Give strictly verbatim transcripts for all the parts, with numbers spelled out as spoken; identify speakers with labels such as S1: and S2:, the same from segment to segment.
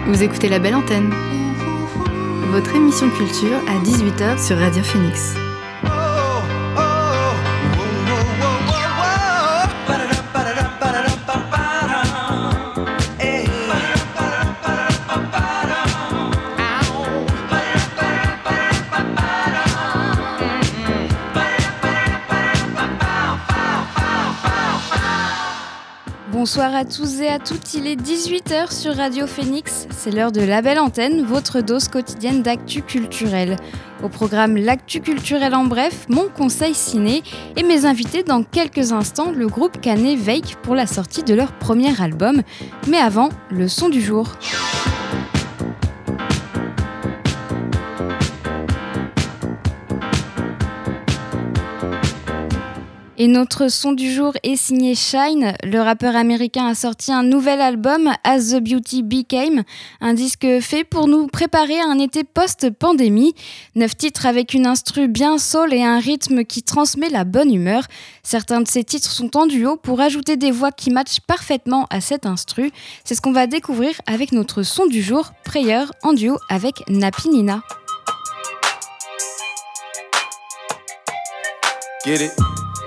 S1: Vous écoutez La Belle Antenne, votre émission culture à dix-huit heures sur Radio Phoenix.
S2: Bonsoir à tous et à toutes, il est dix-huit heures sur Radio Phoenix, c'est l'heure de La Belle Antenne, votre dose quotidienne d'actu culturel. Au programme L'actu culturel en bref, mon conseil ciné et mes invités dans quelques instants, le groupe caennais Veik pour la sortie de leur premier album. Mais avant, le son du jour. Et notre son du jour est signé Shine. Le rappeur américain a sorti un nouvel album, As the Beauty Became, un disque fait pour nous préparer à un été post-pandémie. Neuf titres avec une instru bien soul et un rythme qui transmet la bonne humeur. Certains de ces titres sont en duo pour ajouter des voix qui matchent parfaitement à cette instru. C'est ce qu'on va découvrir avec notre son du jour, Prayer, en duo avec Napi Nina.
S3: Get it?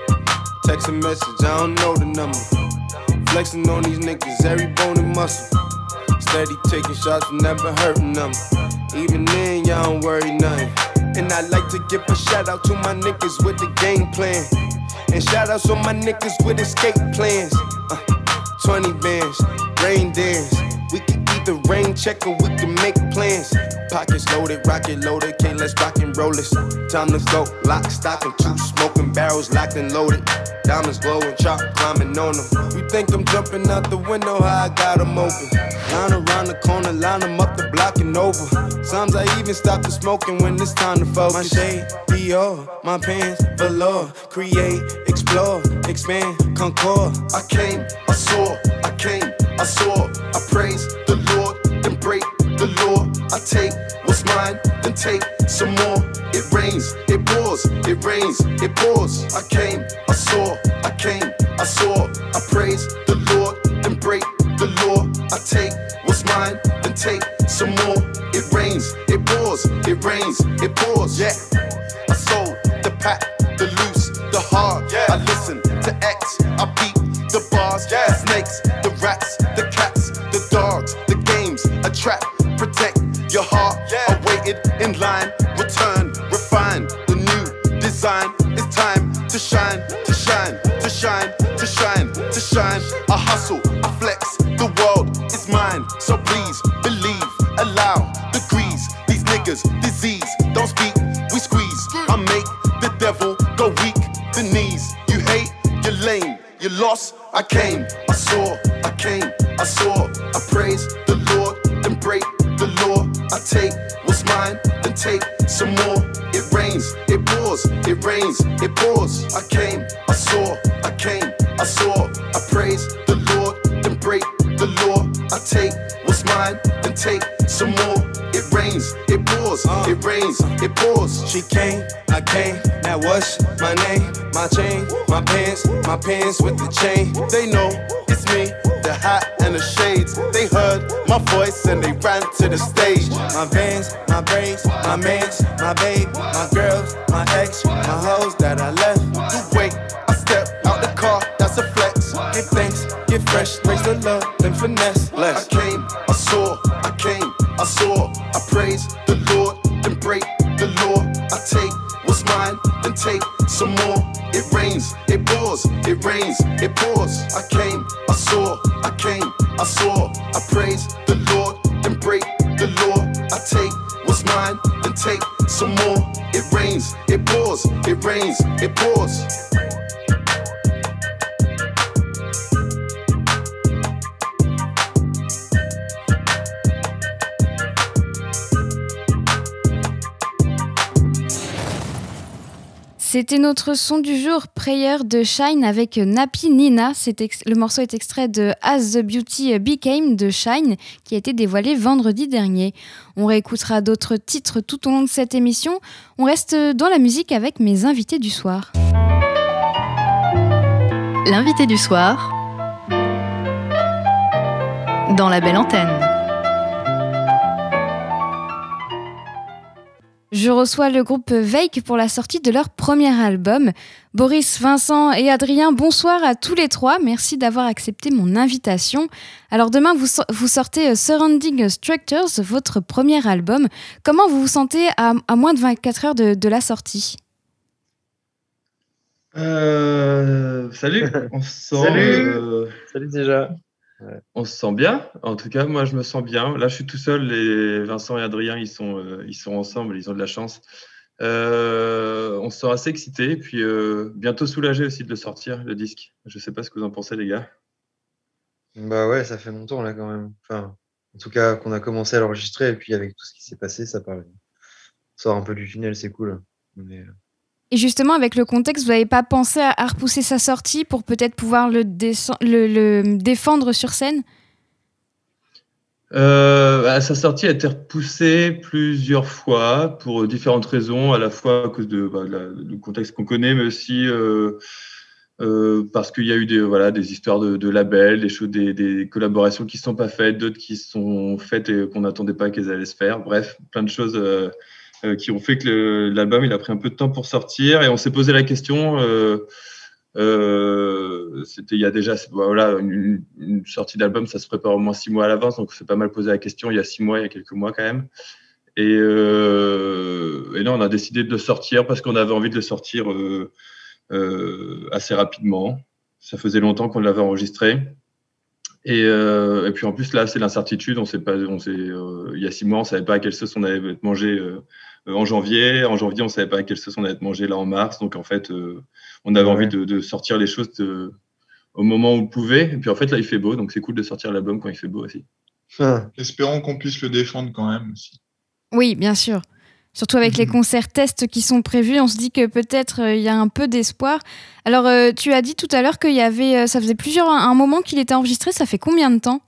S3: Text a message, I don't know the number. Flexing on these niggas, every bone and muscle. Steady taking shots, never hurting them. Even then, y'all don't worry nothing. And I like to give a shout out to my niggas with the game plan. And shout outs on my niggas with escape plans. Uh, twenty bands, rain dance. We can either rain check or we can make plans. Pockets loaded, rocket loaded, okay, let's rock and roll this. Time to go, lock, stock, and two smoking barrels locked and loaded. Diamonds glowing, chop climbing on them. You think I'm jumping out the window, how I got them open. Line around the corner, line them up the block and over. Sometimes I even stop the smoking when it's time to focus. My shade, Dior, my pants, velour. Create, explore, expand, concord. I came, I saw, I came, I saw. I praise the Lord, then break the law. I take what's mine, then take some more. It rains, it pours, it rains, it pours. I came, I saw, I came, I saw. I praise the Lord, then break the law. I take what's mine, then take some more. It rains, it pours, it rains, it pours. Yeah, I sold the pack, the loose, the hard. Yeah, I listen to X, I beat the bars. Yeah, the snakes, the rats, the cats, the dogs, the games, a trap, protect your heart. Yeah, I waited in line, return, refine the new design. It's time to shine, to shine, to shine, to shine, to shine. I hustle, I flex, the world is mine. So please believe, allow degrees. These niggas, disease, don't speak, we squeeze. I make the devil go weak, the knees. You hate, you're lame, you lost. I came, I saw, I came, I saw. I praise the Lord, then break the law. I take what's mine, then take some more. It rains, it pours, it rains, it pours. I came, I saw, I came, I saw. I praise the Lord, then break the law. I take what's mine, then take some more. It rains, it pours, it rains, it pours. She came, I came, now what's my name? My chain, my pants, my pants with the chain. They know it's me, the hat and the shades. They heard my voice and they ran to the stage. My vans, my braids, my mans, my babe, my girls, my ex, my hoes that I left. You wait, I step out the car, that's a flex. Give thanks, get fresh, raise the love, then finesse. Less. I came, I saw, I came, I saw. I praise the Lord, then break the law. I take what's mine, then take some more. It rains, it pours, it rains, it pours. I came, I saw, I came, I saw. I praise the Lord, then break the law. I take what's mine, then take some more. It rains, it pours, it rains, it pours.
S2: C'était notre son du jour, Prayer de Shine avec Napi Nina. C'est ex- le morceau est extrait de As the Beauty Became de Shine qui a été dévoilé vendredi dernier. On réécoutera d'autres titres tout au long de cette émission. On reste dans la musique avec mes invités du soir.
S1: L'invité du soir dans La Belle Antenne.
S2: Je reçois le groupe Veik pour la sortie de leur premier album. Boris, Vincent et Adrien, bonsoir à tous les trois. Merci d'avoir accepté mon invitation. Alors demain, vous, so- vous sortez euh, Surrounding Structures, votre premier album. Comment vous vous sentez à, à moins de vingt-quatre heures de, de la sortie ?
S4: Euh, salut, on se sent,
S5: Salut.
S4: euh,
S5: Salut déjà.
S4: on se sent bien. En tout cas, moi, je me sens bien. Là, je suis tout seul. Les Vincent et Adrien, ils sont, euh, ils sont ensemble. Ils ont de la chance. Euh, on se sent assez excités. Et puis, euh, bientôt soulagé aussi de le sortir, le disque. Je sais pas ce que vous en pensez, les gars.
S5: Bah ouais, ça fait longtemps là quand même. Enfin, en tout cas, qu'on a commencé à l'enregistrer et puis avec tout ce qui s'est passé, ça paraît. On sort un peu du tunnel, c'est cool. Mais, euh,
S2: Et justement, avec le contexte, vous n'avez pas pensé à, à repousser sa sortie pour peut-être pouvoir le, descend- le, le défendre sur scène ?
S4: Euh, bah, sa sortie a été repoussée plusieurs fois pour différentes raisons, à la fois à cause de, bah, de la- du contexte qu'on connaît, mais aussi euh, euh, parce qu'il y a eu des, voilà, des histoires de, de labels, des, choses, des, des collaborations qui ne sont pas faites, d'autres qui sont faites et qu'on n'attendait pas qu'elles allaient se faire. Bref, plein de choses euh, euh, qui ont fait que le- l'album il a pris un peu de temps pour sortir et on s'est posé la question. Euh, euh, c'était il y a déjà voilà, une, une sortie d'album, ça se prépare au moins six mois à l'avance, donc on s'est pas mal posé la question il y a six mois, il y a quelques mois quand même. Et, euh, et là, on a décidé de le sortir parce qu'on avait envie de le sortir euh, euh, assez rapidement. Ça faisait longtemps qu'on l'avait enregistré. Et, euh, et puis en plus, là, c'est l'incertitude. On sait pas, on sait, euh, il y a six mois, on savait pas à quelle sauce on allait être mangé euh, en janvier. En janvier, on savait pas à quelle sauce on allait être mangé là en mars. Donc en fait, euh, on avait
S5: ouais.
S4: envie de, de sortir les choses de, au moment où on pouvait. Et puis en fait, là, il fait beau, donc c'est cool de sortir l'album quand il fait beau aussi.
S5: Ah,
S6: Espérons qu'on puisse le défendre quand même aussi.
S2: Oui, bien sûr. Surtout avec les concerts tests qui sont prévus, on se dit que peut-être euh, il y a un peu d'espoir. Alors, euh, tu as dit tout à l'heure qu'il y avait, euh, ça faisait plusieurs, un moment qu'il était enregistré. Ça fait combien de temps ?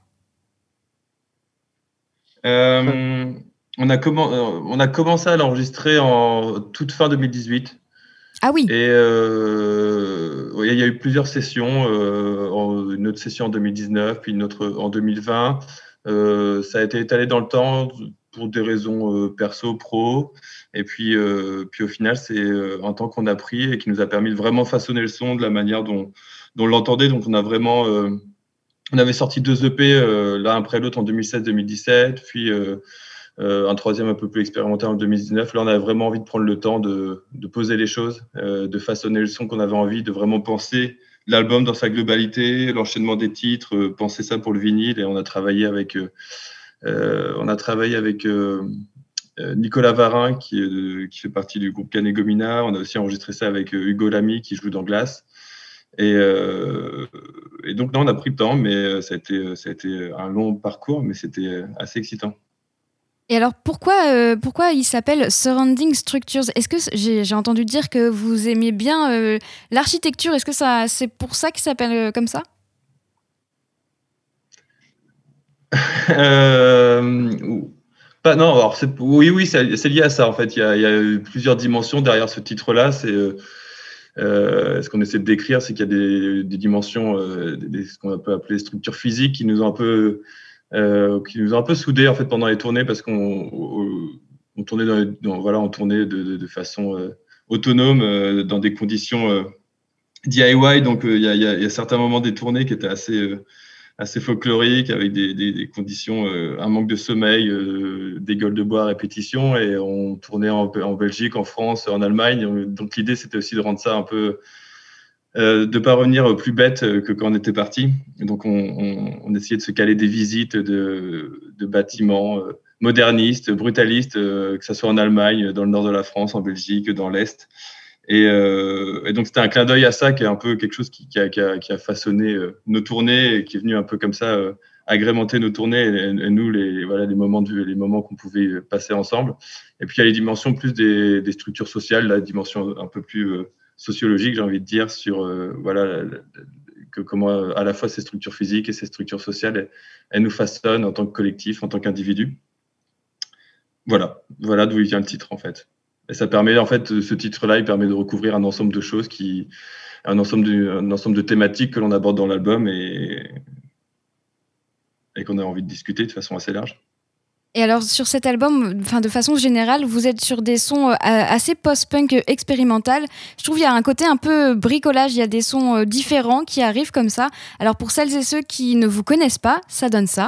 S4: Euh, on, a commen- euh, on a commencé à l'enregistrer en toute fin deux mille dix-huit.
S2: Ah oui.
S4: Et euh, ouais, il y a eu plusieurs sessions, euh, en- une autre session en deux mille dix-neuf, puis une autre en deux mille vingt. Euh, ça a été étalé dans le temps pour des raisons euh, perso, pro. Et puis, euh, puis au final, c'est euh, un temps qu'on a pris et qui nous a permis de vraiment façonner le son de la manière dont, dont on l'entendait. Donc on a vraiment, euh, on avait sorti deux E P euh, l'un après l'autre en deux mille seize deux mille dix-sept, puis euh, euh, un troisième un peu plus expérimental en deux mille dix-neuf. Là, on avait vraiment envie de prendre le temps de, de poser les choses, euh, de façonner le son qu'on avait envie, de vraiment penser l'album dans sa globalité, l'enchaînement des titres, euh, penser ça pour le vinyle. Et on a travaillé avec, euh, euh, on a travaillé avec euh, euh, Nicolas Varin, qui, est de- qui fait partie du groupe Canet Gomina. On a aussi enregistré ça avec euh, Hugo Lamy, qui joue dans Glace. Et, euh, et donc, là, on a pris le temps, mais euh, ça a été, ça a été un long parcours, mais c'était assez excitant.
S2: Et alors, pourquoi, euh, pourquoi il s'appelle Surrounding Structures ? Est-ce que c- j'ai, j'ai entendu dire que vous aimiez bien euh, l'architecture ? Est-ce que ça, c'est pour ça qu'il s'appelle euh, comme ça ?
S4: Euh, pas, non, alors c'est, oui, oui, c'est, c'est lié à ça en fait. Il y a, il y a eu plusieurs dimensions derrière ce titre-là. C'est euh, euh, ce qu'on essaie de décrire, c'est qu'il y a des, des dimensions, euh, des, des- ce qu'on peut appeler structures physiques qui nous ont un peu, euh, qui nous ont un peu soudés en fait pendant les tournées parce qu'on on, on tournait dans, les- dans- voilà, on tournait de, de, de façon euh, autonome euh, dans des conditions euh, D I Y. Donc euh, il y, a, il y a- il y a certains moments des tournées qui étaient assez euh, assez folklorique, avec des, des, des conditions, euh, un manque de sommeil, euh, des gueules de bois à répétition. Et on tournait en, en Belgique, en France, en Allemagne. Donc l'idée, c'était aussi de rendre ça un peu, euh, de ne pas revenir plus bête que quand on était parti. Et donc on, on, on essayait de se caler des visites de, de bâtiments euh, modernistes, brutalistes, euh, que ce soit en Allemagne, dans le nord de la France, en Belgique, dans l'Est. Et, euh, et donc, c'était un clin d'œil à ça, qui est un peu quelque chose qui, qui, a, qui, a, qui a façonné euh, nos tournées et qui est venu un peu comme ça euh, agrémenter nos tournées et, et nous, les, voilà, les, moments de, les moments qu'on pouvait passer ensemble. Et puis, il y a les dimensions plus des, des structures sociales, la dimension un peu plus euh, sociologique, j'ai envie de dire, sur euh, voilà, la, la, que comment à la fois ces structures physiques et ces structures sociales, elles, elles nous façonnent en tant que collectif, en tant qu'individu. Voilà, voilà d'où il vient le titre, en fait. Et ça permet, en fait, ce titre-là, il permet de recouvrir un ensemble de choses, qui, un ensemble de, un ensemble de thématiques que l'on aborde dans l'album et, et qu'on a envie de discuter de façon assez large.
S2: Et alors sur cet album, enfin de façon générale, vous êtes sur des sons euh, assez post-punk euh, expérimental. Je trouve qu'il y a un côté un peu bricolage, il y a des sons euh, différents qui arrivent comme ça. Alors pour celles et ceux qui ne vous connaissent pas, ça donne ça.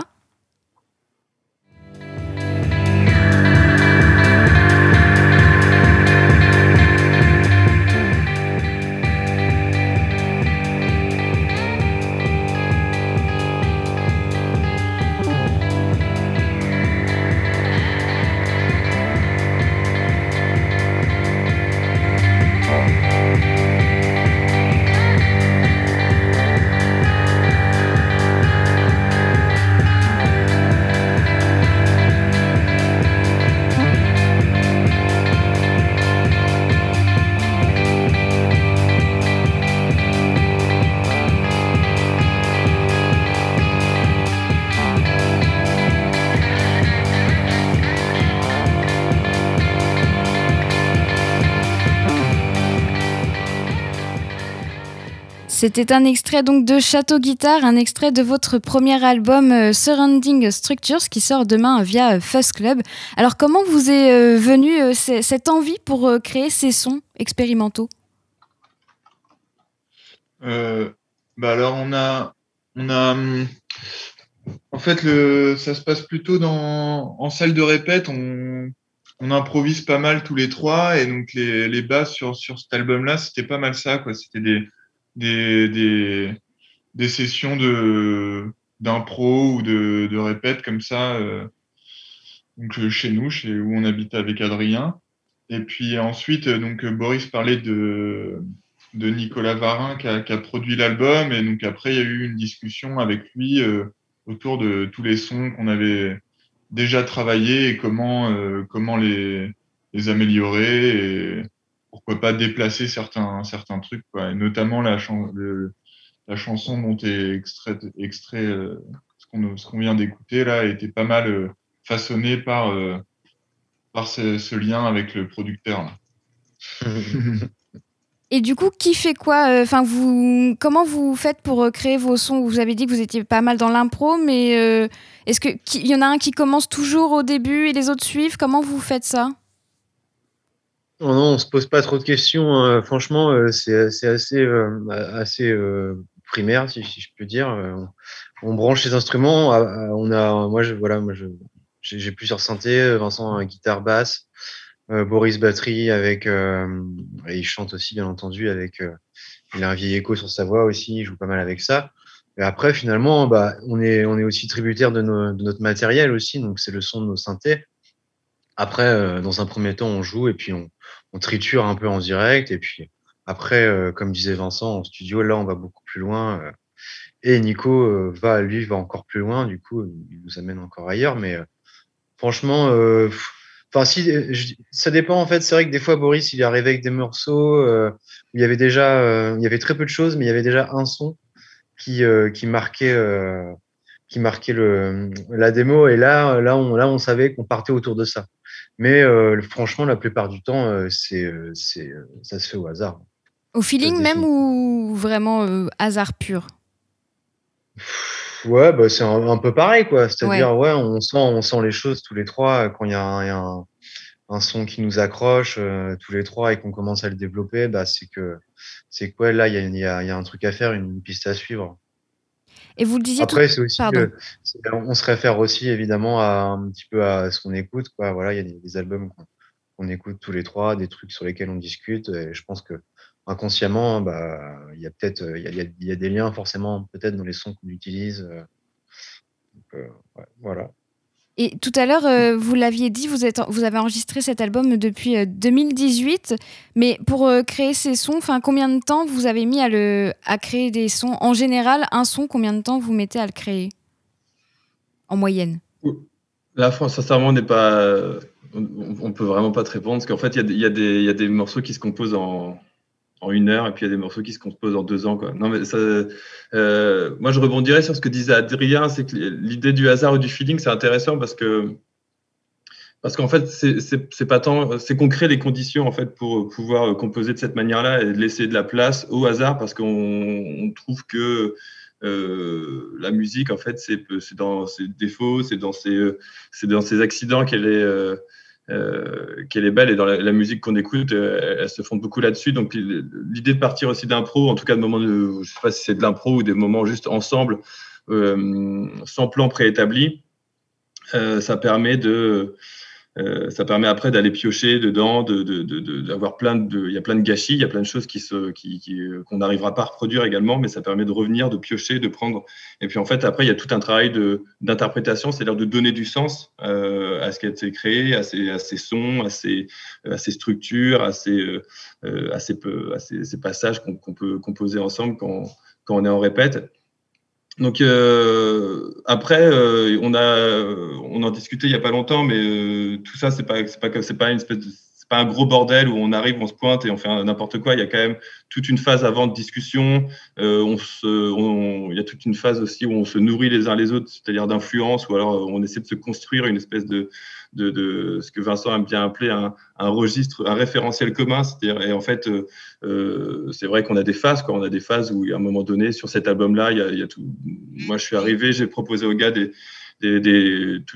S2: C'était un extrait donc de Château Guitare, un extrait de votre premier album euh, Surrounding Structures qui sort demain via euh, Fuzz Club. Alors comment vous est euh, venue euh, c- cette envie pour euh, créer ces sons expérimentaux ?
S6: Euh, bah alors on a, on a, hum, en fait le, ça se passe plutôt dans, en salle de répète. On, on improvise pas mal tous les trois et donc les, les basses sur sur cet album-là, c'était pas mal ça quoi. C'était des des des des sessions de d'impro ou de de répète comme ça. Euh, donc euh, chez nous, chez où on habite avec Adrien. Et puis ensuite, euh, donc euh, Boris parlait de de Nicolas Varin qui a, qui a produit l'album et donc après il y a eu une discussion avec lui euh, autour de tous les sons qu'on avait déjà travaillés et comment euh, comment les les améliorer et pourquoi pas déplacer certains certains trucs quoi. Et notamment la chan- le, la chanson dont est extrait extrait euh, ce qu'on ce qu'on vient d'écouter là était pas mal euh, façonnée par euh, par ce, ce lien avec le producteur là.
S2: Et du coup, qui fait quoi ? Enfin, vous, comment vous faites pour euh, créer vos sons ? Vous avez dit que vous étiez pas mal dans l'impro, mais euh, est-ce que qu'il y en a un qui commence toujours au début et les autres suivent ? Comment vous faites ça ?
S5: Non, non, on se pose pas trop de questions, hein. Franchement, euh, c'est c'est assez, euh, assez euh, primaire, si, si je peux dire. Euh, On, on branche les instruments. ah, ah, On a, moi, je, voilà, moi, je, j'ai j'ai plusieurs synthés. Vincent, euh, guitare basse. euh, Boris, batterie. Avec, euh, et il chante aussi, bien entendu. Avec, euh, il a un vieil écho sur sa voix aussi. Il joue pas mal avec ça. Et après, finalement, bah, on est, on est aussi tributaire de, nos, de notre matériel aussi. Donc, c'est le son de nos synthés. Après, euh, dans un premier temps, on joue et puis on, on triture un peu en direct. Et puis après, euh, comme disait Vincent, en studio, là, on va beaucoup plus loin. euh, et Nico euh, va, lui, va encore plus loin. Du coup, il nous amène encore ailleurs. Mais euh, franchement, euh, pff, enfin, si, euh, je- ça dépend en fait. C'est vrai que des fois, Boris, il est arrivé avec des morceaux euh, où il y avait déjà, euh, il y avait très peu de choses, mais il y avait déjà un son qui, euh, qui marquait. euh, qui marquait le, la démo et là, là, on, là, on savait qu'on partait autour de ça. Mais euh, franchement, la plupart du temps, euh, c'est, euh, c'est, euh, ça se fait au hasard.
S2: Au
S5: Ça se
S2: feeling même
S5: dessine.
S2: ou vraiment euh, hasard pur ?
S5: Ouais, bah, c'est un, un peu pareil, quoi.
S2: Ouais.
S5: C'est-à-dire, ouais, on sent, on sent les choses tous les trois euh, quand il y a un, il y a un, un son qui nous accroche euh, tous les trois et qu'on commence à le développer, bah, c'est que, c'est quoi, là, il y a, il y a, il y a un truc à faire, une piste à suivre.
S2: Et vous le disiez tout...
S5: Après, c'est aussi,
S2: Pardon.
S5: euh, c'est- on se réfère aussi évidemment à un petit peu à ce qu'on écoute, quoi. Voilà, il y a des, des albums qu'on qu'on écoute tous les trois, des trucs sur lesquels on discute. Et je pense que inconsciemment, bah, il y a peut-être, euh, il y a, il y a- il y a des liens forcément peut-être dans les sons qu'on utilise. euh, donc, euh, ouais, voilà.
S2: Et tout à l'heure, euh, vous l'aviez dit, vous, êtes, vous avez enregistré cet album depuis euh, deux mille dix-huit. Mais pour euh, créer ces sons, combien de temps vous avez mis à, le, à créer des sons ? En général, un son, combien de temps vous mettez à le créer ? En moyenne ?
S4: Là, fran- sincèrement, on n'est pas, on, on peut vraiment pas te répondre parce qu'en fait, il y, a des- il y, a des- il y a des morceaux qui se composent en, en une heure et puis il y a des morceaux qui se composent en deux ans, quoi. Non, mais ça, euh, moi, je rebondirais sur ce que disait Adrien, c'est que l'idée du hasard ou du feeling, c'est intéressant parce que parce qu'en fait, c'est c'est c'est pas tant, c'est qu'on crée les conditions en fait pour pouvoir composer de cette manière-là et laisser de la place au hasard parce qu'on on trouve que euh, la musique, en fait, c'est, c'est dans ses défauts, c'est dans ses, c'est dans ses accidents qu'elle est, euh, euh, qu'elle est belle. Et dans la, la musique qu'on écoute, euh, elle, elle se fonde beaucoup là-dessus. Donc, l'idée de partir aussi d'impro, en tout cas de moments de, je sais pas si c'est de l'impro ou des moments juste ensemble, euh, sans plan préétabli, euh, ça permet de Euh, ça permet après d'aller piocher dedans, de, de, de, de, d'avoir plein de, il y a plein de gâchis, il y a plein de choses qui se, qui, qui, qu'on n'arrivera pas à reproduire également, mais ça permet de revenir, de piocher, de prendre. Et puis en fait, après, il y a tout un travail de, d'interprétation, c'est-à-dire de donner du sens euh, à ce qui a été créé, à ces, à ces sons, à ces, à ces structures, à ces, euh, à ces, à ces, ces passages qu'on, qu'on peut composer ensemble quand, quand on est en répète. Donc euh, après, euh, on a, on en discutait il y a pas longtemps, mais euh, tout ça, c'est pas, c'est pas, c'est pas une espèce de, c'est pas un gros bordel où on arrive, on se pointe et on fait n'importe quoi. Il y a quand même toute une phase avant de discussion. Euh, on se, on, il y a toute une phase aussi où on se nourrit les uns les autres, c'est-à-dire d'influence, ou alors on essaie de se construire une espèce de, de, de ce que Vincent aime bien appeler un, un registre, un référentiel commun. C'est-à-dire, et en fait, euh, euh, c'est vrai qu'on a des phases, quoi. On a des phases où, à un moment donné, sur cet album-là, il y a, il y a tout. Moi, je suis arrivé, j'ai proposé aux gars des, des, des tout,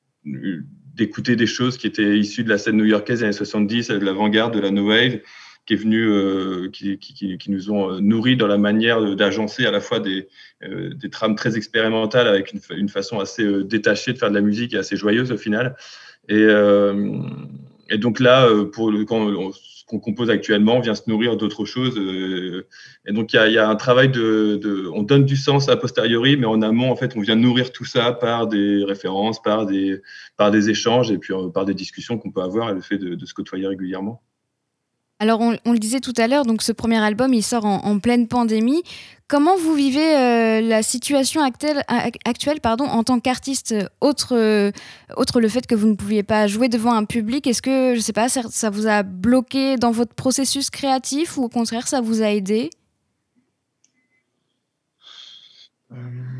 S4: d'écouter des choses qui étaient issues de la scène new-yorkaise des années soixante-dix, de l'avant-garde, de la no wave, qui est venu, euh, qui, qui, qui nous ont nourris dans la manière d'agencer à la fois des, euh, des trames très expérimentales avec une, une façon assez euh, détachée de faire de la musique et assez joyeuse au final. Et, euh, et donc là, pour le, quand on, ce qu'on compose actuellement, on vient se nourrir d'autres choses. Euh, et donc il y a, y a un travail de, de, on donne du sens a posteriori, mais en amont, en fait, on vient nourrir tout ça par des références, par des, par des échanges et puis euh, par des discussions qu'on peut avoir et le fait de, de se côtoyer régulièrement.
S2: Alors, on, on le disait tout à l'heure, donc ce premier album, il sort en, en pleine pandémie. Comment vous vivez euh, la situation actuelle, actuelle pardon, en tant qu'artiste, autre, euh, autre le fait que vous ne pouviez pas jouer devant un public? Est-ce que, je ne sais pas, ça, ça vous a bloqué dans votre processus créatif ou au contraire, ça vous a aidé?
S4: euh...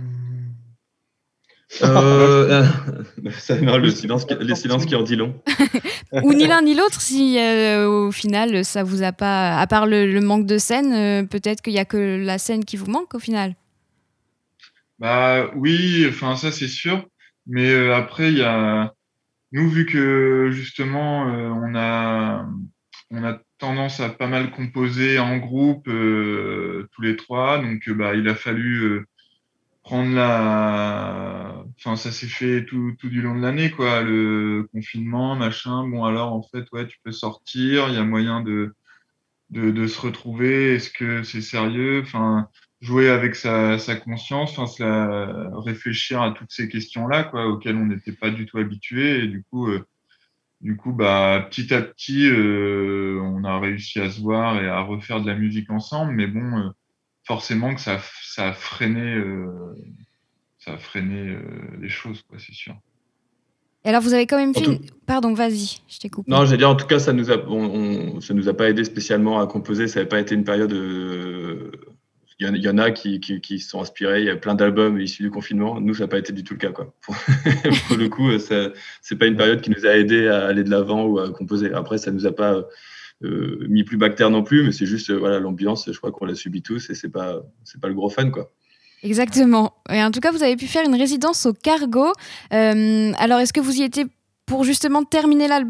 S4: Euh, ça, non, le silence, les silences qui en dit long.
S2: Ou ni l'un ni l'autre, si euh, au final ça vous a pas, à part le, le manque de scène, euh, peut-être qu'il y a que la scène qui vous manque au final.
S6: Bah oui, enfin ça c'est sûr. Mais euh, après il y a nous vu que justement euh, on a on a tendance à pas mal composer en groupe euh, tous les trois, donc euh, bah il a fallu euh, prendre la, enfin ça s'est fait tout, tout du long de l'année quoi, le confinement machin. Bon alors en fait ouais tu peux sortir, il y a moyen de de, de se retrouver. Est-ce que c'est sérieux? Enfin jouer avec sa, sa conscience, enfin se la, réfléchir à toutes ces questions-là quoi auxquelles on n'était pas du tout habitué et du coup euh, du coup bah petit à petit euh, on a réussi à se voir et à refaire de la musique ensemble, mais bon euh, forcément que ça ça a freiné euh, ça a freiné euh, les choses, quoi, c'est sûr.
S2: Et alors, vous avez quand même fait...
S4: Tout...
S2: Une... Pardon, vas-y, je t'ai coupé.
S4: Non, j'allais dire, en tout cas, ça nous a, on, on, ça nous a pas aidé spécialement à composer. Ça n'avait pas été une période... Euh... Il, y en, il y en a qui, qui, qui se sont inspirés. Il y a plein d'albums issus du confinement. Nous, ça n'a pas été du tout le cas, quoi. Pour le coup, ce n'est pas une période qui nous a aidé à aller de l'avant ou à composer. Après, ça ne nous a pas euh, mis plus bactère non plus, mais c'est juste euh, voilà, l'ambiance, je crois qu'on l'a subi tous et ce n'est pas, c'est pas le gros fun, quoi.
S2: Exactement. Et en tout cas, vous avez pu faire une résidence au Cargo. Euh, alors, est-ce que vous y étiez pour justement terminer l'album ?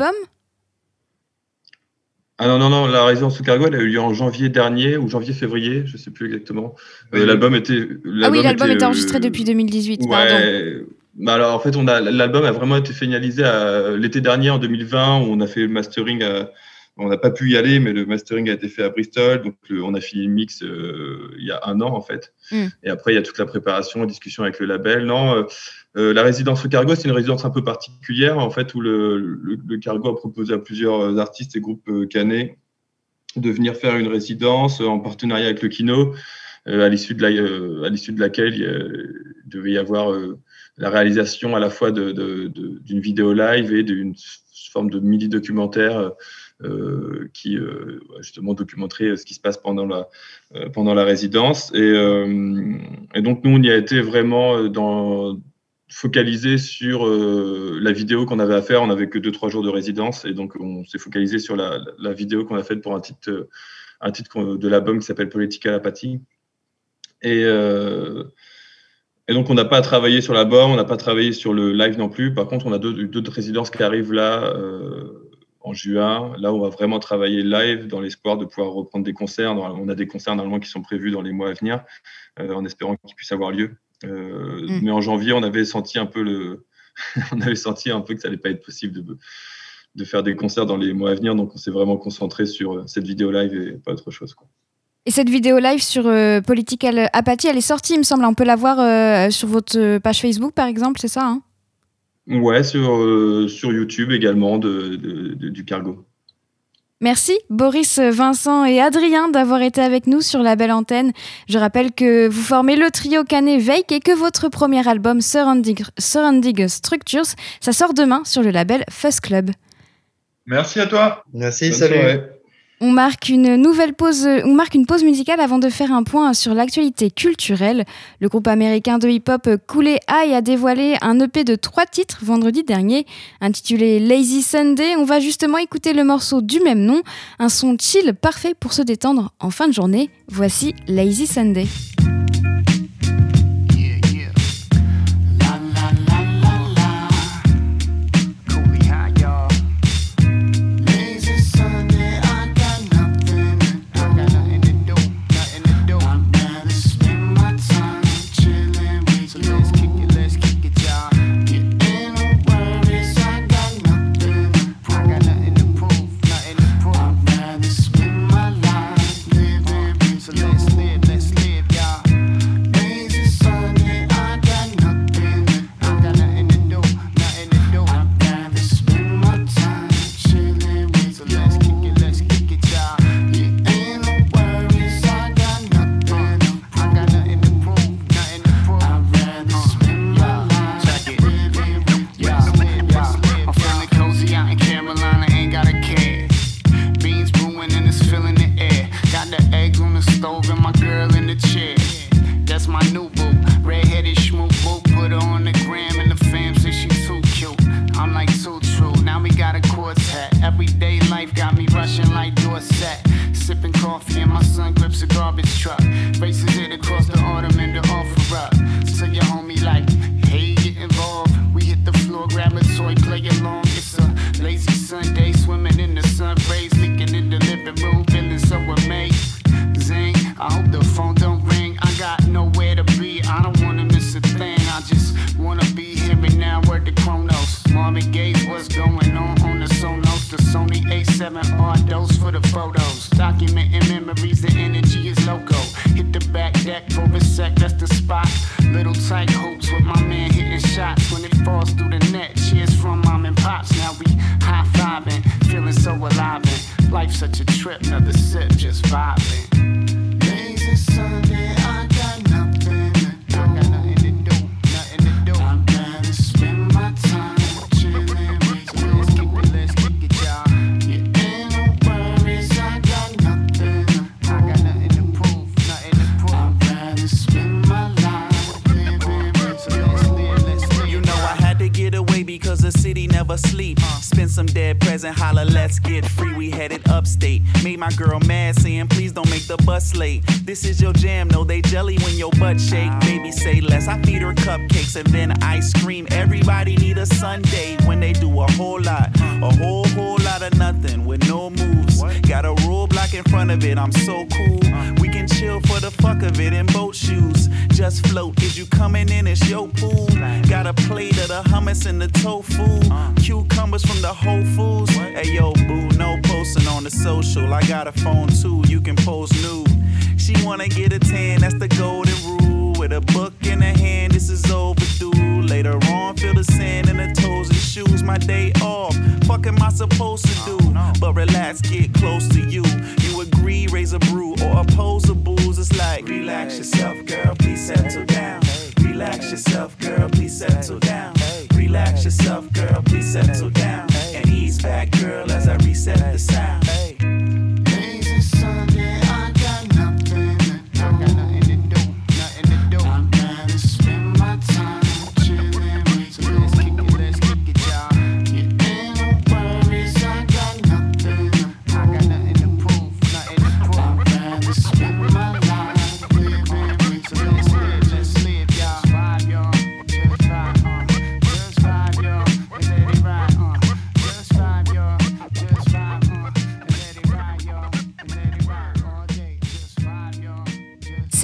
S4: Ah non, non, non, la résidence au Cargo, elle a eu lieu en janvier dernier ou janvier-février, je ne sais plus exactement. Euh, oui. L'album était... L'album
S2: ah oui, l'album était, était enregistré
S4: euh,
S2: depuis deux mille dix-huit,
S4: ouais,
S2: pardon.
S4: Bah alors, en fait, on a, l'album a vraiment été finalisé à, l'été dernier, en deux mille vingt, où on a fait le mastering à... On n'a pas pu y aller, mais le mastering a été fait à Bristol. Donc, le, on a fini le mix euh, il y a un an, en fait. Mm. Et après, il y a toute la préparation, la discussion avec le label. Non, euh, euh, la résidence au Cargo, c'est une résidence un peu particulière, en fait, où le, le, le Cargo a proposé à plusieurs artistes et groupes euh, cannés de venir faire une résidence en partenariat avec le Kino, euh, à l'issue de, la, euh, à l'issue de laquelle il, il devait y avoir euh, la réalisation à la fois de, de, de, d'une vidéo live et d'une forme de mini-documentaire Euh, qui euh, justement documenterait ce qui se passe pendant la, euh, pendant la résidence. Et, euh, et donc, nous, on y a été vraiment dans, focalisé sur euh, la vidéo qu'on avait à faire. On n'avait que deux trois jours de résidence. Et donc, on s'est focalisé sur la, la vidéo qu'on a faite pour un titre, un titre de l'album qui s'appelle Political Apathy. Et, euh, et donc, on n'a pas travaillé sur l'album, on n'a pas travaillé sur le live non plus. Par contre, on a deux, deux résidences qui arrivent là euh, en juin. Là, on va vraiment travailler live dans l'espoir de pouvoir reprendre des concerts. On a des concerts normalement qui sont prévus dans les mois à venir, euh, en espérant qu'ils puissent avoir lieu. Euh, mmh. Mais en janvier, on avait senti un peu le, on avait senti un peu que ça allait pas être possible de, de faire des concerts dans les mois à venir. Donc, on s'est vraiment concentré sur cette vidéo live et pas autre chose, quoi.
S2: Et cette vidéo live sur euh, Political Apathy, elle est sortie, il me semble. On peut la voir euh, sur votre page Facebook, par exemple, c'est ça, hein?
S4: Ouais, sur, euh, sur YouTube également, de, de, de, du Cargo.
S2: Merci Boris, Vincent et Adrien d'avoir été avec nous sur la belle antenne. Je rappelle que vous formez le trio canet Veik et que votre premier album Surrounding, Surrounding Structures, ça sort demain sur le label Fuzz Club.
S6: Merci à toi.
S5: Merci,
S4: Bonne
S5: salut.
S4: soirée.
S2: On marque une nouvelle pause, on marque une pause musicale avant de faire un point sur l'actualité culturelle. Le groupe américain de hip-hop Kool Aid a dévoilé un E P de trois titres vendredi dernier, intitulé Lazy Sunday. On va justement écouter le morceau du même nom, un son chill parfait pour se détendre en fin de journée. Voici Lazy Sunday.
S7: This is your jam, no they jelly when your butt shake. Baby say less, I feed her cupcakes and then ice cream. Everybody need a Sunday when they do a whole lot. A whole, whole lot of nothing with no moves. Got a rule block in front of it, I'm so cool. We can chill for the fuck of it in boat shoes. Just float, is you coming in, it's your pool. Got a plate of the hummus and the tofu. Cucumbers from the Whole Foods. Hey yo boo, no posting on the social. I got a phone too, you can post nude. She wanna get a tan, that's the golden rule. With a book in her hand, this is overdue. Later on, feel the sand in her toes and shoes. My day off, fuck am I supposed to do? But relax, get close to you. You agree, raise a brew or oppose a booze. It's like, relax yourself, girl, please settle down. Relax yourself, girl, please settle down. Relax yourself, girl, please settle down. And ease back, girl, as I reset the sound.
S8: Lazy Sunday, I got nothing to do. I got nothing to do, nothing to do. I'd rather spend my time chilling. So let's kick it, let's kick it, y'all. Yeah, ain't no worries, I got nothing. I got nothing to prove, nothing to prove. I'd rather spend my life living. So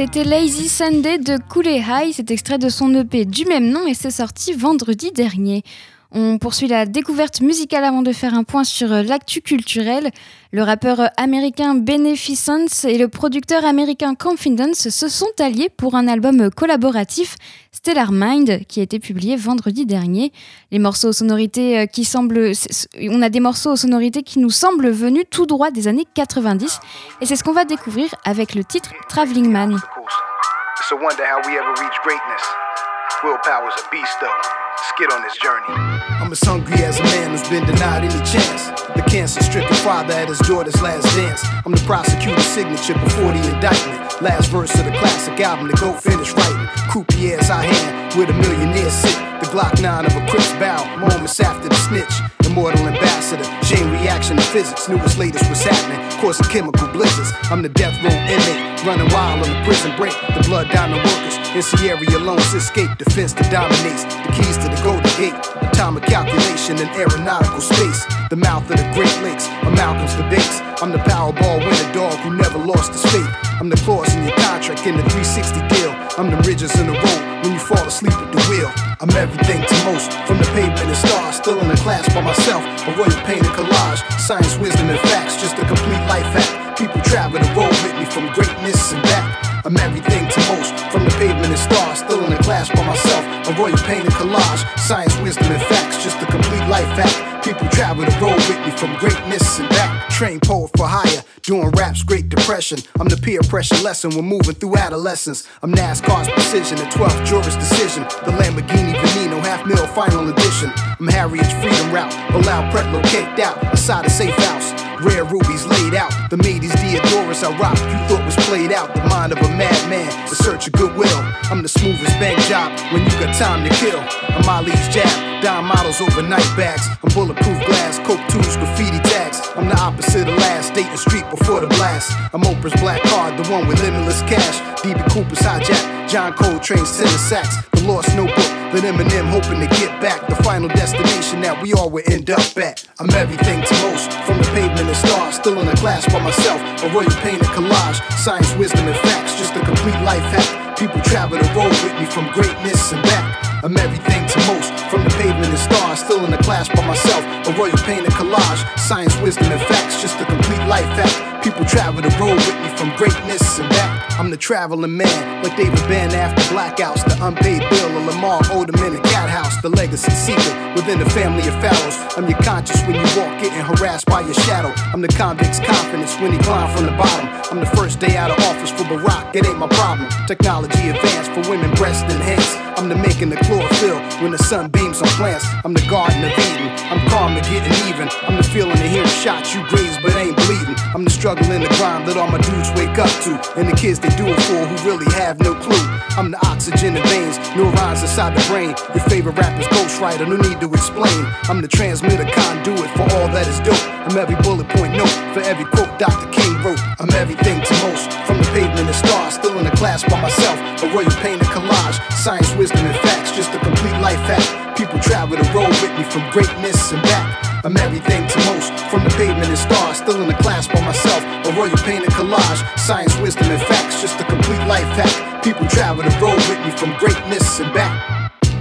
S2: C'était Lazy Sunday de Kooley High, c'est extrait de son E P du même nom et c'est sorti vendredi dernier. On poursuit la découverte musicale avant de faire un point sur l'actu culturel. Le rappeur américain Beneficence et le producteur américain Confidence se sont alliés pour un album collaboratif, Stellar Mind, qui a été publié vendredi dernier. Les morceaux aux sonorités qui semblent, on a des morceaux aux sonorités qui nous semblent venus tout droit des années quatre-vingt-dix, et c'est ce qu'on va découvrir avec le titre Traveling Man.
S9: It's a wonder how we ever reach greatness. Willpower's a beast though. Let's get on this journey.
S3: I'm as hungry as a man who's been denied any chance. The cancer-stricken father at his daughter's last dance. I'm the prosecutor's signature before the indictment. Last verse of the classic album to go finish writing. Croupier's I hand with a millionaire sit. The Glock nine of a Crips bow. Moments after the snitch. Immortal ambassador. Chain reaction to physics. Newest latest what's happening. Causing chemical blizzards. I'm the death row inmate. Running wild on the prison break. The blood down the workers. In Sierra Leone's escape. Defense that dominates. The keys to the golden gate. Atomic calculation in aeronautical space. The mouth of the Great Lakes. I'm Malcolm's debates. I'm the Powerball winner dog who never lost his faith. I'm the clause in your contract in the three sixty deal. I'm the ridges in the road when you fall asleep at the wheel. I'm everything to most, from the pavement and stars. Still in the class by myself, a royal painted collage. Science, wisdom, and facts, just a complete life hack. People travel the road with me from greatness and back. I'm everything to most, from the pavement and stars. Still in the class by myself, a royal painted collage. Science, wisdom, and facts, just a complete life hack. People travel the road with me from greatness and back. Trained poet for hire, doing raps, Great Depression. I'm the peer pressure lesson, we're moving through adolescence. I'm NASCAR's precision, the twelfth jurist decision. The Lamborghini Veneno, half mil final edition. I'm Harriet's freedom route, Bilal Pretlow caked out, aside a safe house. Rare rubies laid out, the Mady's Diodorus I rock, you thought was played out. The mind of a madman, the search of goodwill. I'm the smoothest bank job when you got time to kill. I'm Ali's jab, dime models over night bags. I'm bulletproof glass, coke tubes, graffiti tags. I'm the opposite of last, Dayton Street before the blast. I'm Oprah's black card, the one with limitless cash. D B Cooper's hijack, John Coltrane's tenor sax. The lost notebook, that Eminem hoping to get back. The final destination that we all will end up at. I'm everything to most, from the pavement and stars. Still in the class by myself, a royal painted collage. Science, wisdom, and facts, just a complete life hack. People travel the road with me from greatness and back. I'm everything to most, from the pavement and stars. Still in the class by myself, a royal painted collage. Science, wisdom, and facts, just a complete life hack. People travel the road with me from greatness and back. I'm the traveling man, like David Banner after blackouts. The unpaid bill of Lamar Odom in a cat house. The legacy secret within the family of pharaohs. I'm your conscience when you walk, getting harassed by your shadow. I'm the convict's confidence when he climbed from the bottom. I'm the first day out of office for Barack, it ain't my problem. Technology advanced for women, breast and hands. I'm the making the chlorophyll when the sun beams on plants. I'm the garden of Eden, I'm calm and getting even. I'm the feeling of hearing shots you graze but ain't bleeding. I'm the struggle in the grind that all my dudes wake up to. And the kids they do it for who really have no clue. I'm the oxygen in veins, neurons inside the brain. Your favorite rapper's ghostwriter, no need to explain. I'm the transmitter conduit for all that is dope. I'm every bullet point note for every quote Doctor King wrote. I'm everything to most, from the pavement and stars. Still in the class by myself, a royal painted collage. Science, wisdom, and facts, just a complete life hack. People travel the road with me from greatness and back. I'm everything to most, from the pavement and stars. Still in the class by myself, a royal painted collage. Science, wisdom, and facts, just a complete life hack. People travel the road with me from greatness and back.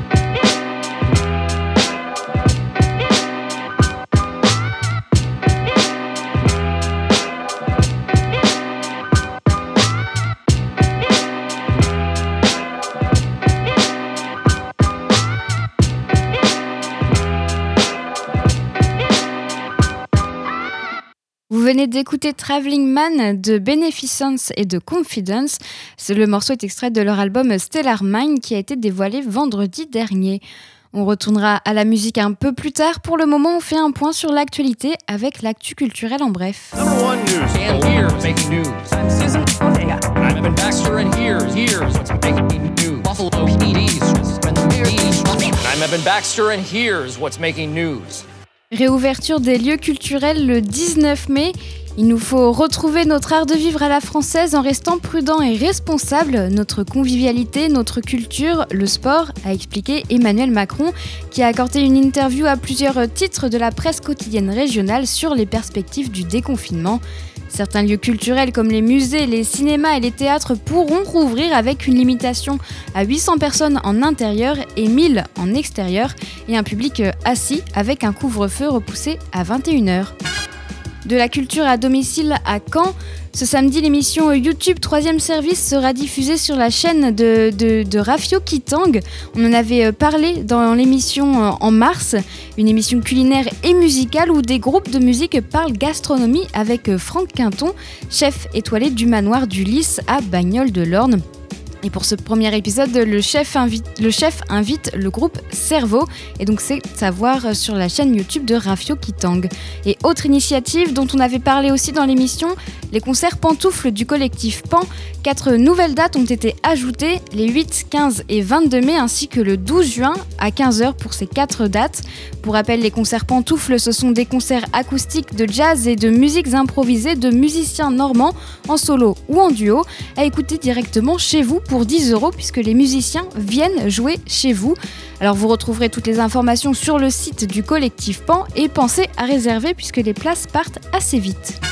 S2: Vous venez d'écouter Traveling Man de Beneficence et de Confidence. Le morceau est extrait de leur album Stellar Mind qui a été dévoilé vendredi dernier. On retournera à la musique un peu plus tard. Pour le moment, on fait un point sur l'actualité avec l'actu culturelle en bref.
S10: Number one news. And here's making news. I'm Susan Ortega. I'm Evan Baxter, and here's here's what's making news. Buffalo P D's. I'm Evan Baxter, and here's what's making news.
S2: Réouverture des lieux culturels le dix-neuf mai. Il nous faut retrouver notre art de vivre à la française en restant prudent et responsable. Notre convivialité, notre culture, le sport, a expliqué Emmanuel Macron, qui a accordé une interview à plusieurs titres de la presse quotidienne régionale sur les perspectives du déconfinement. Certains lieux culturels comme les musées, les cinémas et les théâtres pourront rouvrir avec une limitation à huit cents personnes en intérieur et mille en extérieur et un public assis avec un couvre-feu repoussé à vingt et une heures. De la culture à domicile à Caen, ce samedi, l'émission YouTube troisième service sera diffusée sur la chaîne de, de, de Rafio Kitang. On en avait parlé dans l'émission en mars, une émission culinaire et musicale où des groupes de musique parlent gastronomie avec Franck Quinton, chef étoilé du manoir du Lys à Bagnoles-de-l'Orne. Et pour ce premier épisode, le chef invite le, chef invite le groupe Cerveau, et donc c'est à voir sur la chaîne YouTube de Rafio Kitang. Et autre initiative dont on avait parlé aussi dans l'émission, les concerts pantoufles du collectif Pan. Quatre nouvelles dates ont été ajoutées, les huit, quinze et vingt-deux mai, ainsi que le douze juin à quinze heures pour ces quatre dates. Pour rappel, les concerts pantoufles, ce sont des concerts acoustiques de jazz et de musiques improvisées de musiciens normands en solo ou en duo, à écouter directement chez vous pour dix euros puisque les musiciens viennent jouer chez vous. Alors vous retrouverez toutes les informations sur le site du collectif Pan et pensez à réserver puisque les places partent assez vite.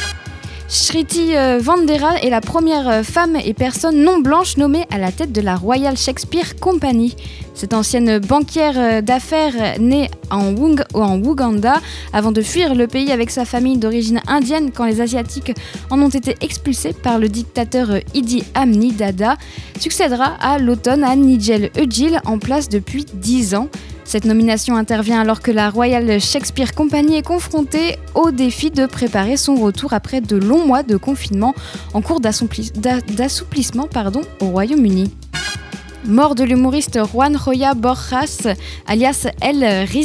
S2: Shriti Vandera est la première femme et personne non blanche nommée à la tête de la Royal Shakespeare Company. Cette ancienne banquière d'affaires née en, Wung- en Ouganda avant de fuir le pays avec sa famille d'origine indienne quand les Asiatiques en ont été expulsés par le dictateur Idi Amin Dada, succédera à l'automne à Nigel Ejil en place depuis dix ans. Cette nomination intervient alors que la Royal Shakespeare Company est confrontée au défi de préparer son retour après de longs mois de confinement en cours d'assoupli- d'a- d'assouplissement pardon, au Royaume-Uni. Mort de l'humoriste Juan Roya Borjas, alias El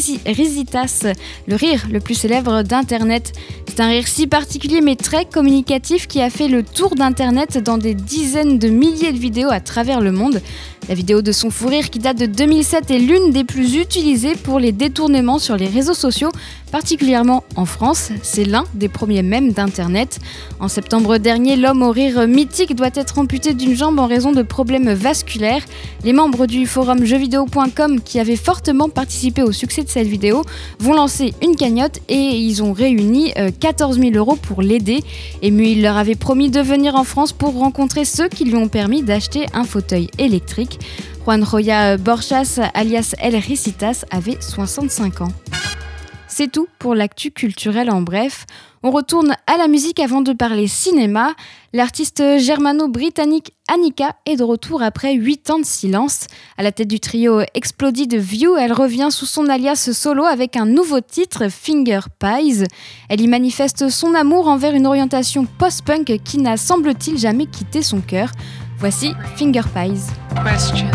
S2: Risitas, le rire le plus célèbre d'Internet. C'est un rire si particulier mais très communicatif qui a fait le tour d'Internet dans des dizaines de milliers de vidéos à travers le monde. La vidéo de son fou rire qui date de deux mille sept est l'une des plus utilisées pour les détournements sur les réseaux sociaux, particulièrement en France. C'est l'un des premiers mèmes d'Internet. En septembre dernier, l'homme au rire mythique doit être amputé d'une jambe en raison de problèmes vasculaires. Les membres du forum jeux vidéo point com qui avaient fortement participé au succès de cette vidéo vont lancer une cagnotte et ils ont réuni quatorze mille euros pour l'aider. Ému, il leur avait promis de venir en France pour rencontrer ceux qui lui ont permis d'acheter un fauteuil électrique. Juan Roya Borjas, alias El Risitas, avait soixante-cinq ans. C'est tout pour l'actu culturelle en bref. On retourne à la musique avant de parler cinéma. L'artiste germano-britannique Annika est de retour après huit ans de silence. À la tête du trio Exploded View, elle revient sous son alias solo avec un nouveau titre, Finger Pies. Elle y manifeste son amour envers une orientation post-punk qui n'a, semble-t-il, jamais quitté son cœur. Voici Finger Pies.
S11: Question.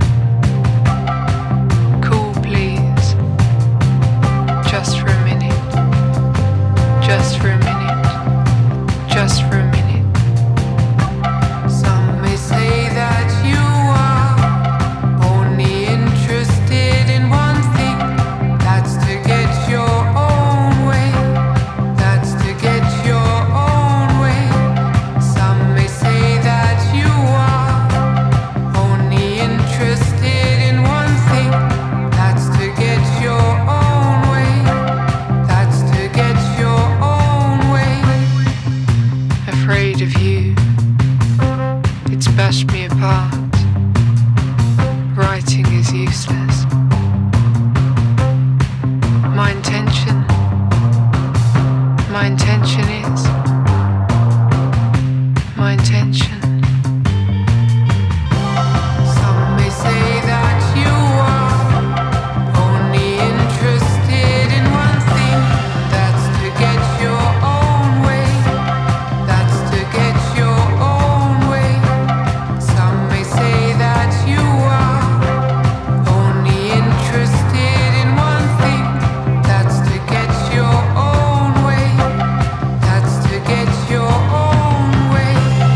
S11: Cool, please. Just for a minute. Just for a minute. Just for a minute. Some may say that you are only interested in one thing. That's to get your own way. That's to get your own way. Some may say that you are only interested in one thing. That's to get your own way. That's to get your own way. Afraid of you, it's bashed me apart. Writing is useless. My intention, my intention is, my intention. Some may say that you are only interested in one thing. That's to get your own way. That's to get your own way. Some may say that you are only interested in one thing. That's to get your own way. That's to get your own way.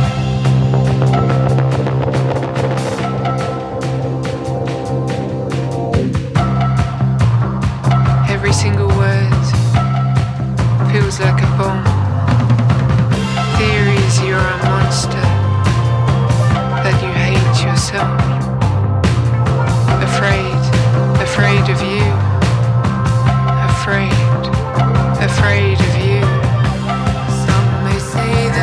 S11: Every single word feels like a bomb. Theories you're a monster, that you hate yourself. Afraid, afraid of you. Afraid, afraid of you. Some may say that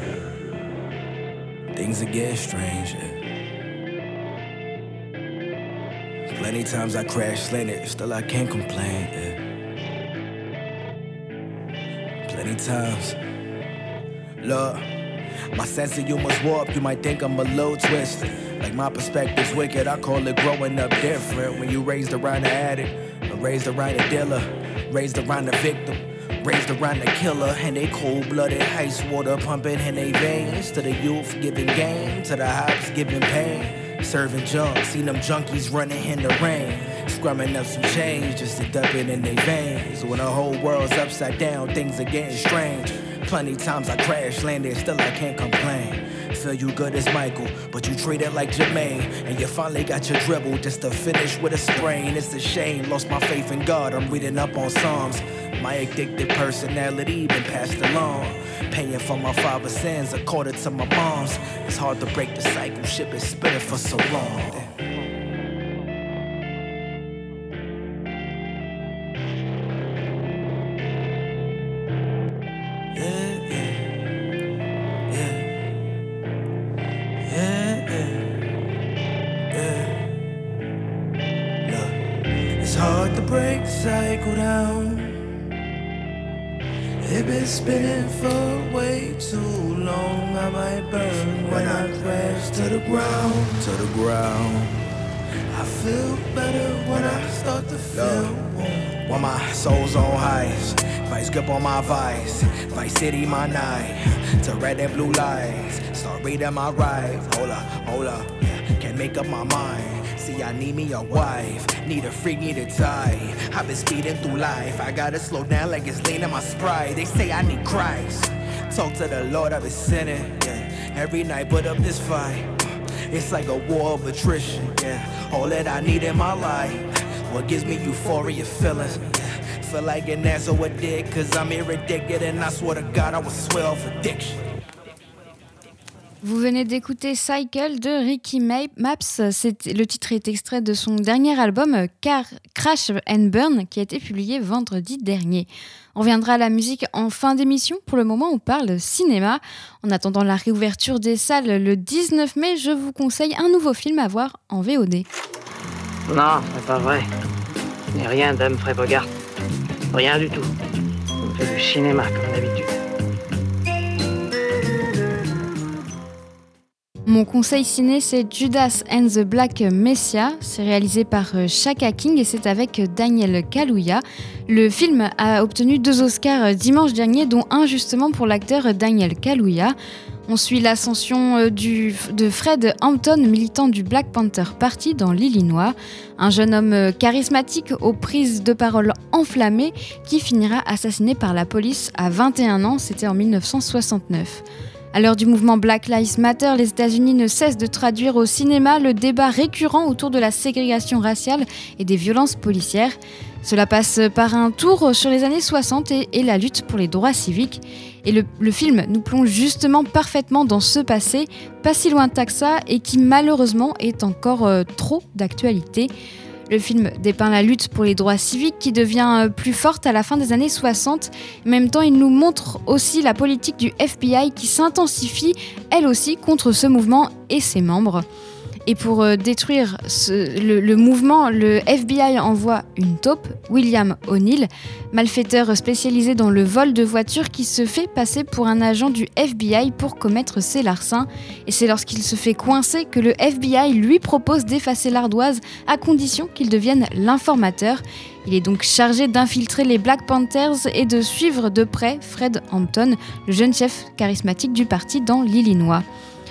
S12: getting strange. Yeah. Plenty times I crash landed, still I can't complain. Yeah. Plenty times, look, my sense of humor's warped. You might think I'm a little twisted. Like my perspective's wicked, I call it growing up different. When you raised around the addict, or raised around the dealer, raised around the victim, raised around the killer, and they cold-blooded ice water pumping in their veins. To the youth giving game, to the hops giving pain. Serving junk, seen them junkies running in the rain, scrumming up some change just to dump it in their veins. When the whole world's upside down, things are getting strange. Plenty times I crash landed, still I can't complain. Feel you good as Michael, but you treat it like Jermaine. And you finally got your dribble just to finish with a sprain. It's a shame, lost my faith in God, I'm reading up on Psalms. My addicted personality been passed along. Paying for my father's sins according to my mom's. It's hard to break the cycle, shit been spinning for so long. Break the cycle down. It been spinning for way too long. I might burn when I crash to the ground, to the ground. I feel better when I start to feel warm. When my soul's on highs, vice grip on my vice, Vice City my night, to red and blue lights. Start reading my rights. Hold up, hold up, yeah, can't make up my mind. See, I need me a wife, need a freak, need a tie. I've been speeding through life, I gotta slow down like it's lean in my Sprite. They say I need Christ, talk to the Lord, I've been sinning, yeah. Every night put up this fight, it's like a war of attrition, yeah. All that I need in my life, what gives me euphoria feelings, yeah. Feel like an asshole dick, cause I'm irritated and I swear to God I was swell for addiction.
S2: Vous venez d'écouter Cycle de Ricky Maps. C'est, le titre est extrait de son dernier album Car- Crash and Burn qui a été publié vendredi dernier. On reviendra à la musique en fin d'émission. Pour le moment, on parle cinéma. En attendant la réouverture des salles le dix-neuf mai, je vous conseille un nouveau film à voir en V O D.
S13: Non, c'est pas vrai. Ce n'est rien d'Humphrey Bogart. Rien du tout. On fait du cinéma comme d'habitude.
S2: Mon conseil ciné, c'est Judas and the Black Messiah. C'est réalisé par Shaka King et c'est avec Daniel Kaluuya. Le film a obtenu deux Oscars dimanche dernier, dont un justement pour l'acteur Daniel Kaluuya. On suit l'ascension du, de Fred Hampton, militant du Black Panther Party dans l'Illinois. Un jeune homme charismatique aux prises de parole enflammées qui finira assassiné par la police à vingt et un ans, c'était en dix-neuf cent soixante-neuf. À l'heure du mouvement Black Lives Matter, les États-Unis ne cessent de traduire au cinéma le débat récurrent autour de la ségrégation raciale et des violences policières. Cela passe par un tour sur les années soixante et, et la lutte pour les droits civiques. Et le, le film nous plonge justement parfaitement dans ce passé, pas si lointain que ça, et qui malheureusement est encore euh, trop d'actualité. Le film dépeint la lutte pour les droits civiques qui devient plus forte à la fin des années soixante. En même temps, il nous montre aussi la politique du F B I qui s'intensifie, elle aussi, contre ce mouvement et ses membres. Et pour euh, détruire ce, le, le mouvement, le F B I envoie une taupe, William O'Neill, malfaiteur spécialisé dans le vol de voitures qui se fait passer pour un agent du F B I pour commettre ses larcins. Et c'est lorsqu'il se fait coincer que le F B I lui propose d'effacer l'ardoise à condition qu'il devienne l'informateur. Il est donc chargé d'infiltrer les Black Panthers et de suivre de près Fred Hampton, le jeune chef charismatique du parti dans l'Illinois.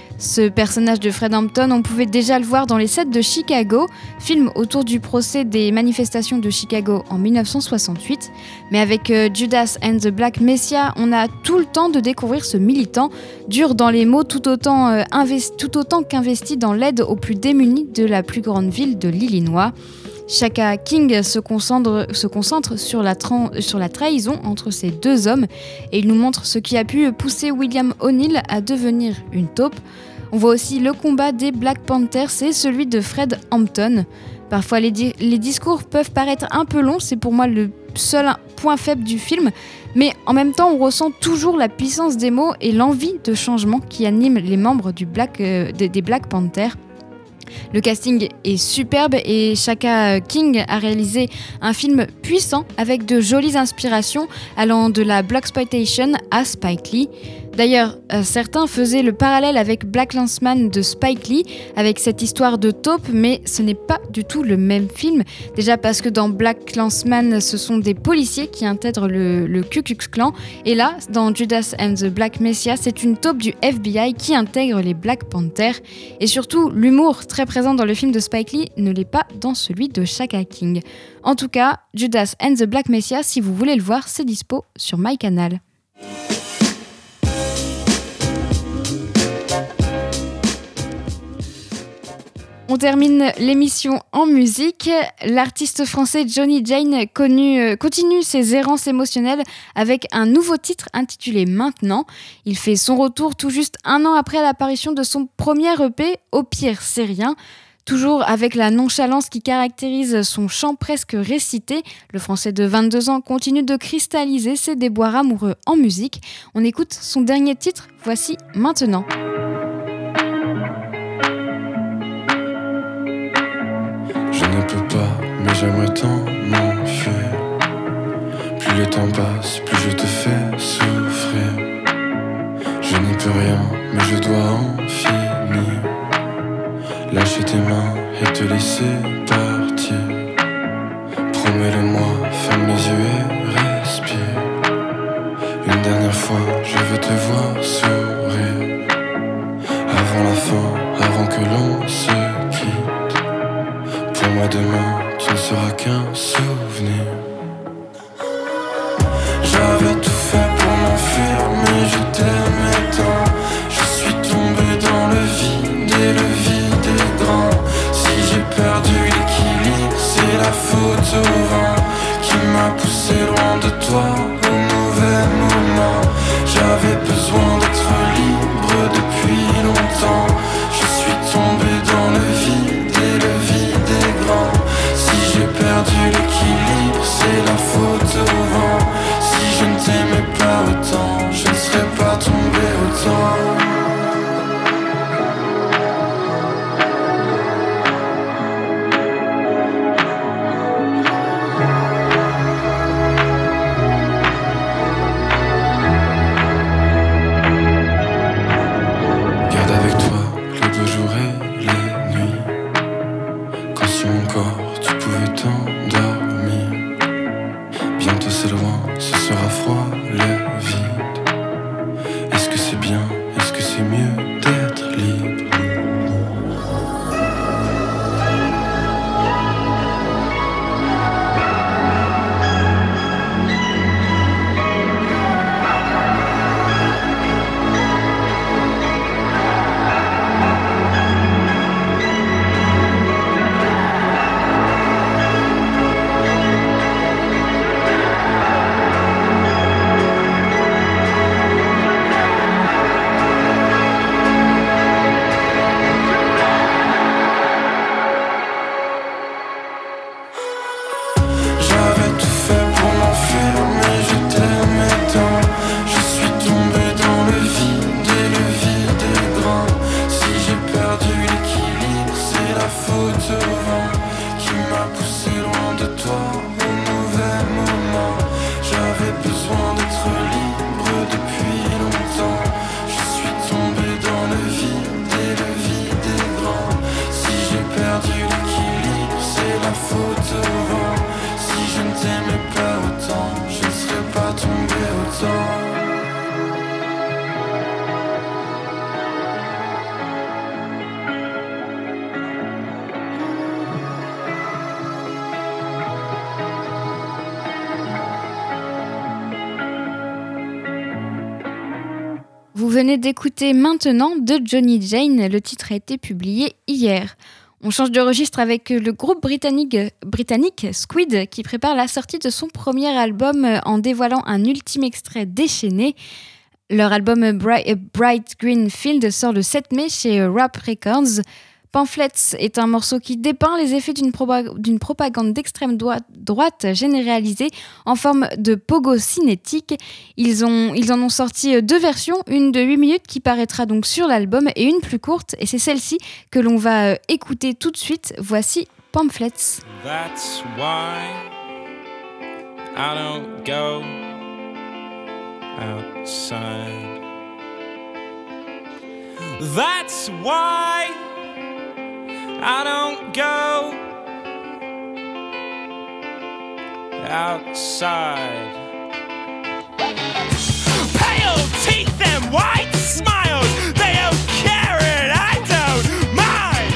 S2: Ce personnage de Fred Hampton, on pouvait déjà le voir dans Les Sept de Chicago, film autour du procès des manifestations de Chicago en dix-neuf cent soixante-huit. Mais avec euh, Judas and the Black Messiah, on a tout le temps de découvrir ce militant, dur dans les mots tout autant, euh, investi, tout autant qu'investi dans l'aide aux plus démunis de la plus grande ville de l'Illinois. Shaka King se concentre, se concentre sur, la tra- sur la trahison entre ces deux hommes et il nous montre ce qui a pu pousser William O'Neill à devenir une taupe. On voit aussi le combat des Black Panthers et celui de Fred Hampton. Parfois, les, di- les discours peuvent paraître un peu longs, c'est pour moi le seul point faible du film, mais en même temps on ressent toujours la puissance des mots et l'envie de changement qui anime les membres du Black, euh, des, des Black Panthers. Le casting est superbe et Shaka King a réalisé un film puissant avec de jolies inspirations allant de la blaxploitation à Spike Lee. D'ailleurs, euh, certains faisaient le parallèle avec BlacKkKlansman de Spike Lee avec cette histoire de taupe, mais ce n'est pas du tout le même film. Déjà parce que dans BlacKkKlansman, ce sont des policiers qui intègrent le, le Ku Klux Klan, et là, dans Judas and the Black Messiah, c'est une taupe du F B I qui intègre les Black Panthers. Et surtout, l'humour très présent dans le film de Spike Lee ne l'est pas dans celui de Shaka King. En tout cas, Judas and the Black Messiah, si vous voulez le voir, c'est dispo sur MyCanal. On termine l'émission en musique. L'artiste français Johnny Jane connu, euh, continue ses errances émotionnelles avec un nouveau titre intitulé Maintenant. Il fait son retour tout juste un an après l'apparition de son premier E P, Au pire, c'est rien. Toujours avec la nonchalance qui caractérise son chant presque récité, le français de vingt-deux ans continue de cristalliser ses déboires amoureux en musique. On écoute son dernier titre, voici Maintenant.
S14: Je ne peux pas, mais j'aimerais tant m'enfuir. Plus le temps passe, plus je te fais souffrir. Je n'y peux rien, mais je dois en finir. Lâcher tes mains et te laisser partir. Promets-le-moi, ferme les yeux et respire. Une dernière fois, je veux te voir sourire. Avant la fin, avant que l'on se quitte. Pour moi demain, tu ne seras qu'un souvenir. J'avais tout fait pour m'enfuir, mais je t'aimais tant. Je suis tombé dans le vide et le vide est grand. Si j'ai perdu l'équilibre, c'est la faute au vent qui m'a poussé loin de toi au mauvais moment. J'avais besoin d'être libre depuis longtemps. Je suis tombé dans le vide et le vide est grand. Si j'ai perdu l'équilibre, c'est la faute au vent. Si je ne t'aimais pas autant, je ne serais pas tombé autant.
S2: Vous venez d'écouter Maintenant de Johnny Jane, le titre a été publié hier. On change de registre avec le groupe britannique, britannique Squid qui prépare la sortie de son premier album en dévoilant un ultime extrait déchaîné. Leur album Bright, Bright Green Field sort le sept mai chez Rap Records. Pamphlets est un morceau qui dépeint les effets d'une, proba- d'une propagande d'extrême droite, droite généralisée en forme de pogo cinétique. Ils, ont, ils en ont sorti deux versions, une de huit minutes qui paraîtra donc sur l'album et une plus courte, et c'est celle-ci que l'on va écouter tout de suite. Voici Pamphlets.
S15: That's why I don't go outside. That's why I don't go outside. Pale teeth and white smiles, they don't care and I don't mind.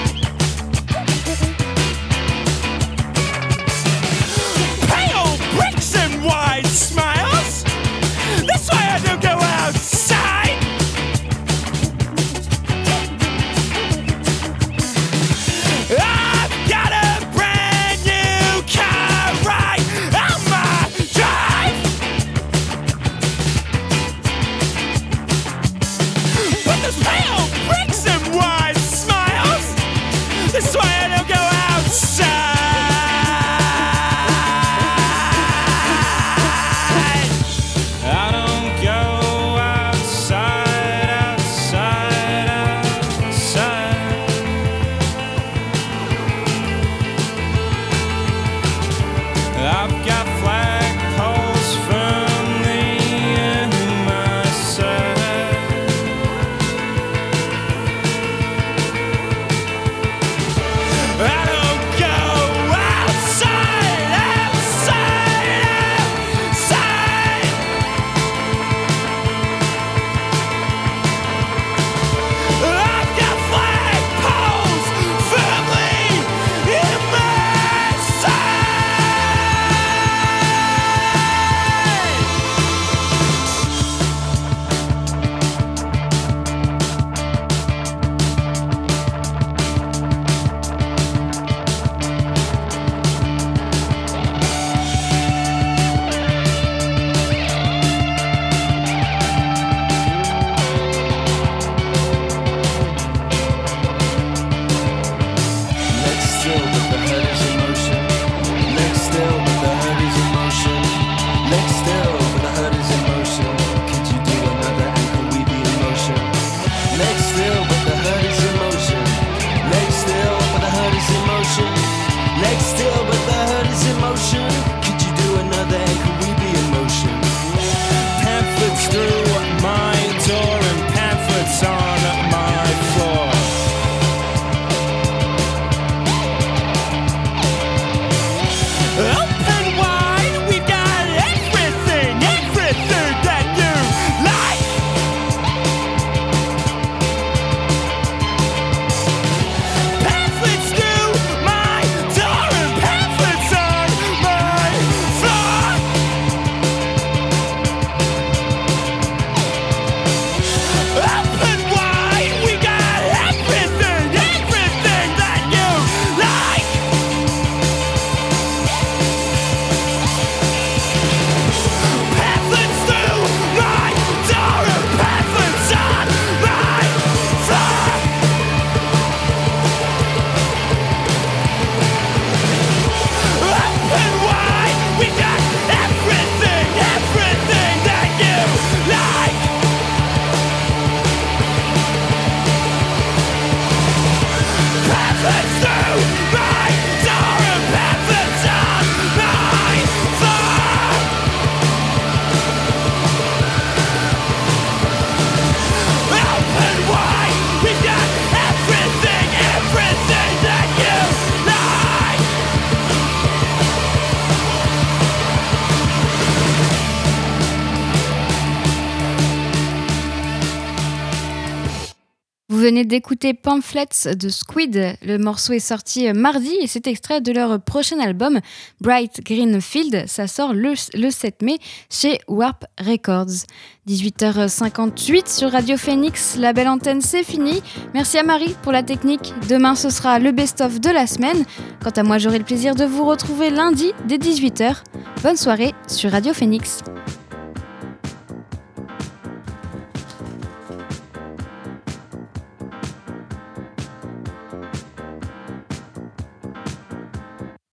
S15: Pale bricks and wide smiles, that's why I don't go outside. I've got a brand new car right on my drive. But there's pale bricks and wide smiles, that's why I don't go outside. I don't go outside, outside, outside. I've got flagpoles firmly in my sight. I don't go outside, outside, outside. I've got flagpoles firmly in my sight. Next still, but the hurt is emotion. Next still, but the hurt is emotion. Next still, but the hurt is emotion. Could you do another and could we be emotion? Next still, but the hurt is emotion. Next still, but the hurt is emotion. Next still, but the hurt is emotion. Could you do another and could we be emotion? Pamphlets through my door and pamphlets on my floor. Open wide, we've got everything, everything that you like. Pamphlets through my door and pamphlets on my floor. Open wide, we got everything, everything that you like. Pamphlets through my door and pamphlets on my floor. Open wide, we got everything, everything that you like. Pamphlets through my door and pamphlets on my floor. Open wide, we got everything, everything that you like.
S2: Vous venez d'écouter Pamphlets de Squid. Le morceau est sorti mardi et c'est extrait de leur prochain album Bright Green Field. Ça sort le, le sept mai chez Warp Records. dix-huit heures cinquante-huit sur Radio Phoenix. La belle antenne, c'est fini. Merci à Marie pour la technique. Demain, ce sera le best-of de la semaine. Quant à moi, j'aurai le plaisir de vous retrouver lundi dès dix-huit heures. Bonne soirée sur Radio Phoenix.